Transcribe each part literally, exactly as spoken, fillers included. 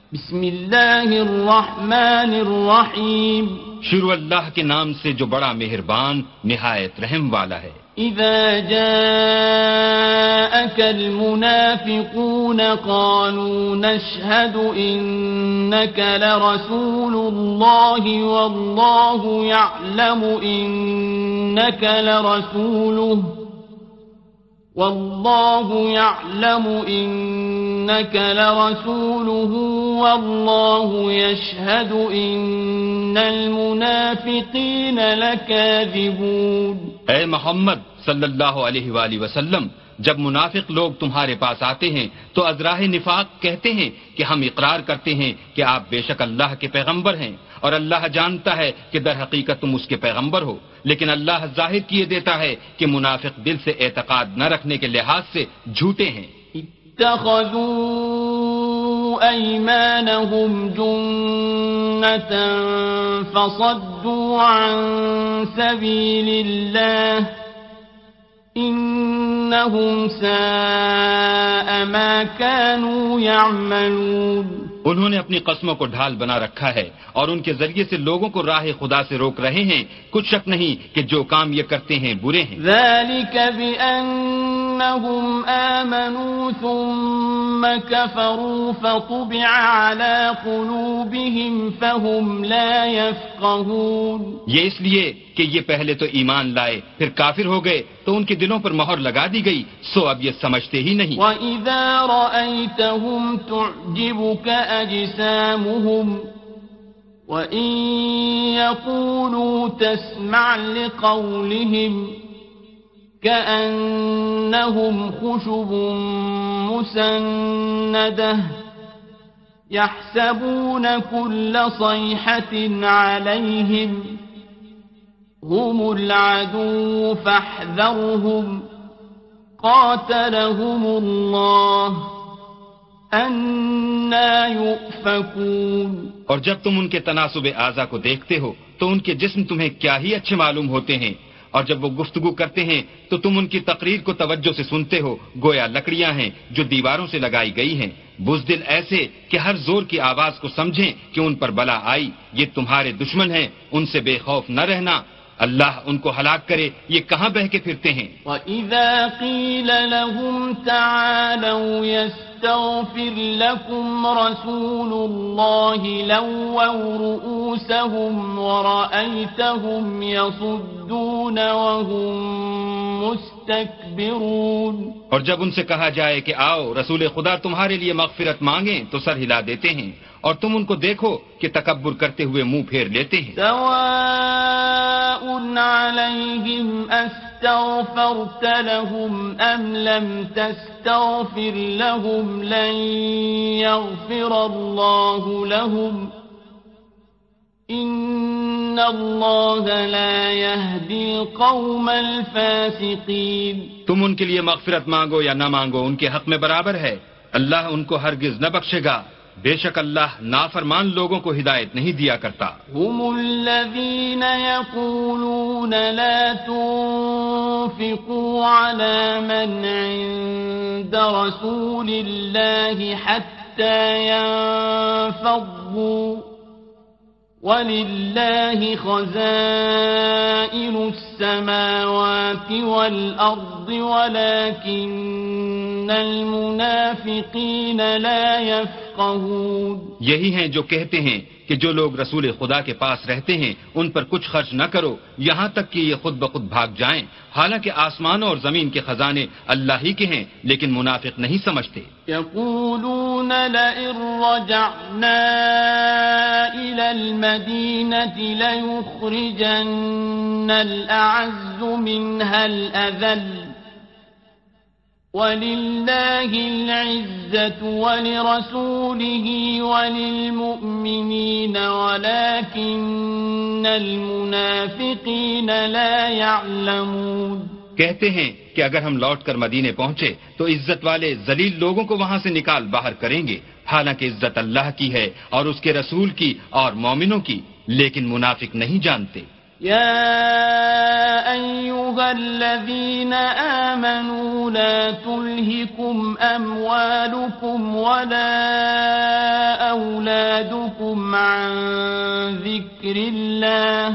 بسم اللہ الرحمن الرحیم. شروع اللہ کے نام سے جو بڑا مہربان نہایت رحم والا ہے. اذا جاءك المنافقون قالوا نشهد انك لرسول الله والله يعلم انك لرسوله والله يعلم إنك لرسوله والله يشهد إن المنافقين لكاذبون. اے محمد صلی اللہ علیہ وآلہ وسلم، جب منافق لوگ تمہارے پاس آتے ہیں تو ازراہ نفاق کہتے ہیں کہ ہم اقرار کرتے ہیں کہ آپ بے شک اللہ کے پیغمبر ہیں، اور اللہ جانتا ہے کہ در حقیقت تم اس کے پیغمبر ہو، لیکن اللہ ظاہر کیے دیتا ہے کہ منافق دل سے اعتقاد نہ رکھنے کے لحاظ سے جھوٹے ہیں. اتخذوا ایمانهم جنة فصدوا عن سبیل اللہ انہم ساء ما كانوا يعملون. انہوں نے اپنی قسموں کو ڈھال بنا رکھا ہے اور ان کے ذریعے سے لوگوں کو راہ خدا سے روک رہے ہیں. کچھ شک نہیں کہ جو کام یہ کرتے ہیں برے ہیں. ذلك بأنهم آمنوا ثم كفروا فطبع على قلوبهم فهم لا يفقهون. یہ اس لیے کہ یہ پہلے تو ایمان لائے پھر کافر ہو گئے تو ان کے دلوں پر مہر لگا دی گئی، سو اب یہ سمجھتے ہی نہیں. وَإِذَا رَأَيْتَهُمْ تُعْجِبُكَ أَجْسَامُهُمْ وَإِن يَقُولُوا تَسْمَعْ لِقَوْلِهِمْ كَأَنَّهُمْ خُشُبٌ مُّسَنَّدَةٌ يَحْسَبُونَ كُلَّ صَيْحَةٍ عَلَيْهِمْ هم العدو فاحذرهم قاتلهم الله أنا يؤفكون. اور جب تم ان کے تناسب اعضا کو دیکھتے ہو تو ان کے جسم تمہیں کیا ہی اچھے معلوم ہوتے ہیں، اور جب وہ گفتگو کرتے ہیں تو تم ان کی تقریر کو توجہ سے سنتے ہو گویا لکڑیاں ہیں جو دیواروں سے لگائی گئی ہیں. بزدل ایسے کہ ہر زور کی آواز کو سمجھیں کہ ان پر بلا آئی. یہ تمہارے دشمن ہیں، ان سے بے خوف نہ رہنا. اللہ ان کو ہلاک کرے، یہ کہاں بہ کے پھرتے ہیں. وَإِذَا قِيلَ لَهُمْ تَعَالَوْا يَسْتَغْفِرْ لَكُمْ رَسُولُ اللَّهِ لَوَّوْا رُؤُوسَهُمْ وَرَأَيْتَهُمْ يَصُدُّونَ وَهُمْ مُسْتَكْبِرُونَ. اور جب ان سے کہا جائے کہ آؤ رسول خدا تمہارے لیے مغفرت مانگیں تو سر ہلا دیتے ہیں، اور تم ان کو دیکھو کہ تکبر کرتے ہوئے منہ پھیر لیتے ہیں. سواء علیہم استغفرت لهم ام لم تستغفر لهم لن يغفر الله لهم ان اللہ لا يهدي القوم الفاسقین. تم ان کے لیے مغفرت مانگو یا نہ مانگو ان کے حق میں برابر ہے، اللہ ان کو ہرگز نہ بخشے گا. بے شک اللہ نافرمان لوگوں کو ہدایت نہیں دیا کرتا. هم الذين يقولون لا تنفقوا على من عند رسول الله حتى ينفضوا وَلِلَّهِ خَزَائِنُ السَّمَاوَاتِ وَالْأَرْضِ وَلَكِنَّ الْمُنَافِقِينَ لَا يَفْقَهُونَ. یہی ہیں جو کہتے ہیں کہ جو لوگ رسول خدا کے پاس رہتے ہیں ان پر کچھ خرچ نہ کرو یہاں تک کہ یہ خود بخود بھاگ جائیں، حالانکہ آسمانوں اور زمین کے خزانے اللہ ہی کے ہیں، لیکن منافق نہیں سمجھتے. يقولون لئن رجعنا إلى المدينة ليخرجن الأعز منها الأذل ولله العزة ولرسوله وللمؤمنين ولكن المنافقين لا يعلمون. کہتے ہیں کہ اگر ہم لوٹ کر مدینے پہنچے تو عزت والے ذلیل لوگوں کو وہاں سے نکال باہر کریں گے، حالانکہ عزت اللہ کی ہے اور اس کے رسول کی اور مومنوں کی، لیکن منافق نہیں جانتے. يا أيها الذين آمنوا لا تلهكم أموالكم ولا أولادكم أولادكم عن ذكر الله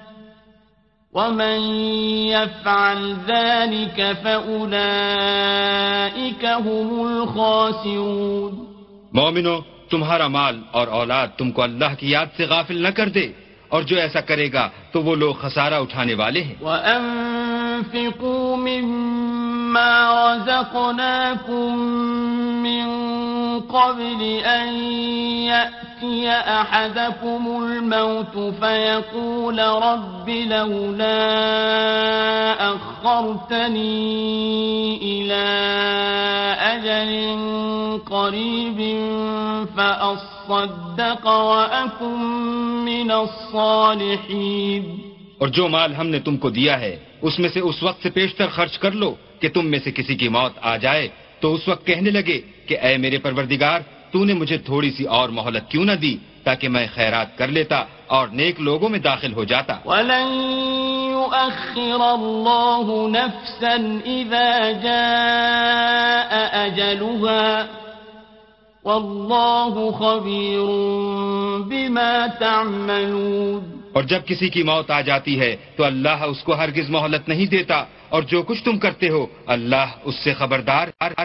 ومن يفعل ذلك فأولئك هم الخاسرون. مومنو، تمہارا مال اور اولاد تم کو اللہ کی یاد سے غافل نہ کر دے، اور جو ایسا کرے گا تو وہ لوگ خسارہ اٹھانے والے ہیں. وَأَنفِقُوا مِمَّا رَزَقْنَاكُم مِّن قَبْلِ أَن يَأْتِيَ أَحَدَكُمُ الْمَوْتُ فَيَقُولَ رَبِّ لَوْلَا أَخَّرْتَنِي إِلَىٰ أَجَلٍ قَرِيبٍ فَأَصَّدَّقَ وَأَكُن مِّنَ الصَّالِحِينَ. اور جو مال ہم نے تم کو دیا ہے اس میں سے اس وقت سے پیشتر خرچ کر لو کہ تم میں سے کسی کی موت آ جائے تو اس وقت کہنے لگے کہ اے میرے پروردگار، تو نے مجھے تھوڑی سی اور مہلت کیوں نہ دی تاکہ میں خیرات کر لیتا اور نیک لوگوں میں داخل ہو جاتا. وَلَن يُؤَخِّرَ اللَّهُ نَفْسًا إِذَا جَاءَ أَجَلُهَا وَاللَّهُ خَبِيرٌ بِمَا تَعْمَلُونَ. اور جب کسی کی موت آ جاتی ہے تو اللہ اس کو ہرگز مہلت نہیں دیتا، اور جو کچھ تم کرتے ہو اللہ اس سے خبردار.